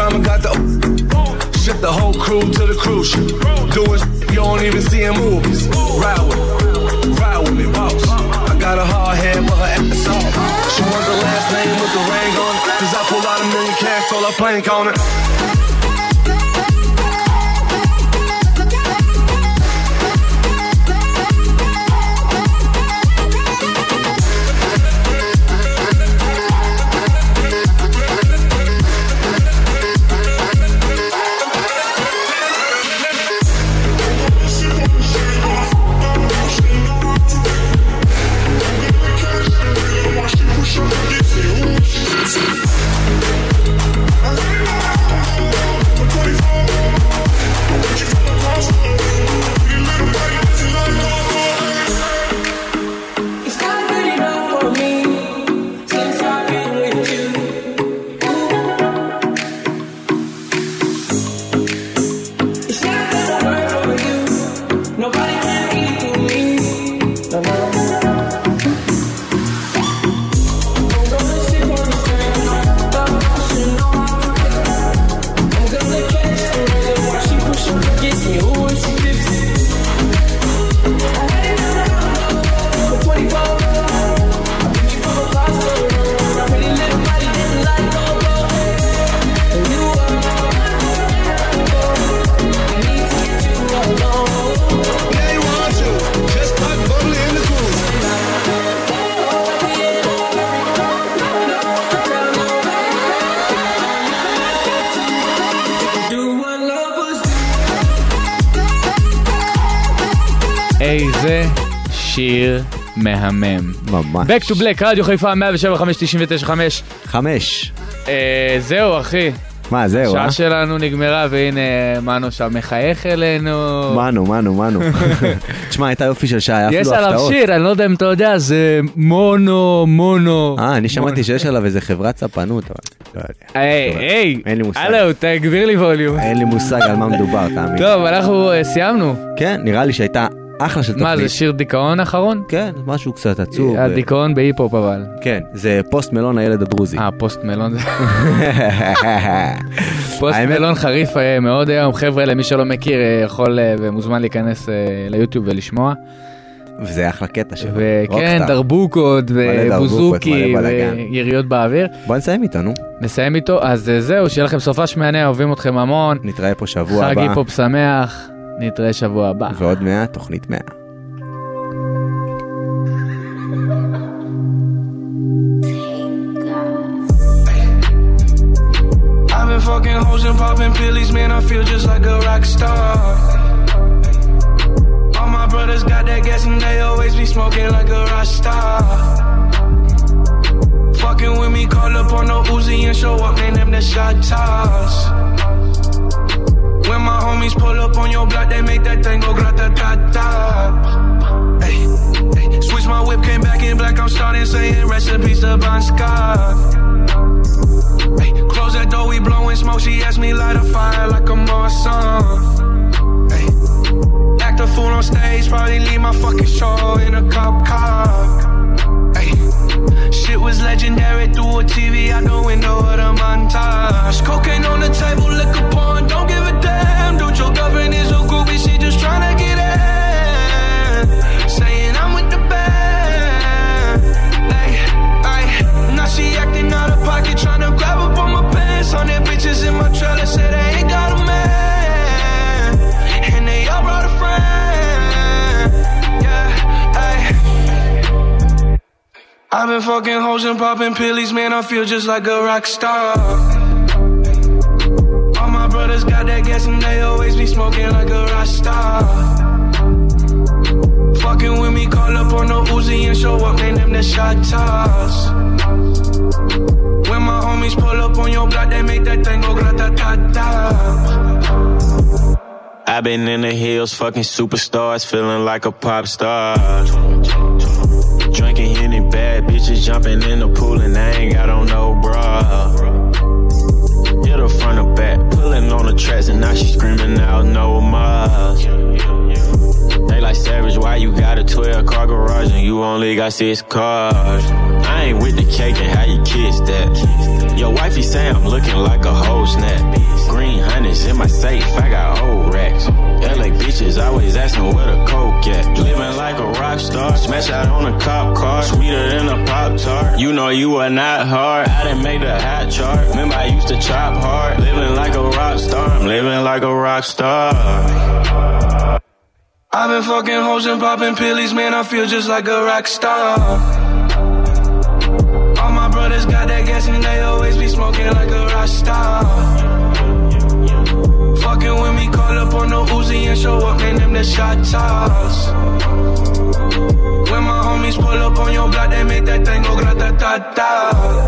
drama, got the ship the whole crew to the cruise ship. Doing you don't even see in movies. Ride with me, ride with me, boss. I got a hard head, but her ass off. She wants the last name with the ring on it. Cause I pulled out a million cash, told her plank on it. איזה שיר מהמם. ממש. Back to Black, רדיו חיפה מאה ושבע חמש תשעים ותשע חמש. חמש. זהו אחי. מה זהו? השעה שלנו נגמרה והנה מנו שם מחייך אלינו. מנו, מנו, מנו. תשמע, הייתה יופי של שעה, היה אפילו יש הפתעות. עליו שיר, אני לא יודע אם אתה יודע, זה מונו, מונו. אה, אני שמעתי שיש עליו איזה חברת ספנות, אבל לא יודע. היי, היי. אין לי מושג. הלו, תגביר לי ווליום. אין לי מושג על מה מדובר, תאמין. טוב, אנחנו סיימנו. כן, נראה לי שהייתה אחלה של תוכנית. מה, זה שיר דיכאון האחרון? כן, משהו קצת עצוב. הדיכאון בהיפ-הופ אבל. כן, זה פוסט מלון הילד הדרוזי. אה, פוסט מלון זה... פוסט מלון חריף מאוד היום. חבר'ה, למי שלא מכיר, יכול ומוזמן להיכנס ליוטיוב ולשמוע. וזה אחלה קטע שלו. וכן, דרבוקות ובוזוקי ויריות באוויר. בוא נסיים איתו, נו. נסיים איתו, אז זהו, שיהיה לכם סופש מהנה, אוהבים אתכם המון. נתראה פה שבוע הבא. חג היפ-הופ שמח. נתראה שבוע הבא. ועוד מאה, תוכנית מאה. I've been fucking hoes and popping pillies, man, I feel just like a rock star. All my brothers got that gas and they always be smoking like a rock star. Fucking with me, call up on the Uzi and show up, man, them the shot toss. When my homies pull up on your block, they make that thing go grata-ta-ta. Hey, hey. Switch my whip, came back in black, I'm starting saying recipes to Bon Scott. Hey, close that door, we blowing smoke, she asked me light a fire like a Marsan. Hey, act a fool on stage, probably leave my fucking show in a cop car. Hey, shit was legendary through a T V out the window of the montage. Cocaine on the table, liquor porn, don't give a damn. Dude, your girlfriend is a groupie, she just tryna get in. Saying I'm with the band. Hey, hey, now she acting out of pocket, tryna grab up on my pants. On their bitches in my trailer, say they ain't got a man. And they all brought a friend. Yeah, hey. I've been fucking hoes and popping pillies, man, I feel just like a rock star. All my brothers got that gas and they always be smoking like a rock star. Fucking with me, call up on the Uzi and show up, man, them the shot toss. When my homies pull up on your block, they make that thing go grata-ta-ta. I've been in the hills, fucking superstars, feeling like a pop star. Drinking any bad bitches, jumping in the pool and I ain't got on no bra. Hit her front or back, pulling on the tracks and now she screaming out no more. They like Savage, why you got a twelve car garage and you only got six cars? I ain't with the cake and how you kiss that. Your wifey say I'm looking like a whole snap. Green hundreds in my safe, I got old racks. L A bitches always asking where the coke at. Living like a rock star, smash out on a cop car, sweeter than a Pop-Tart. You know you are not hard, I done made the hot chart. Remember I used to chop hard, living like a rock star. I'm living like a rock star. I've been fucking hoes and popping pillies, man, I feel just like a rock star. All my brothers got that gas and they always be smoking like a rock star. Fucking with me, call up on the Uzi and show up, man, them the shot toss. When my homies pull up on your block, they make that thing go grata-ta-ta.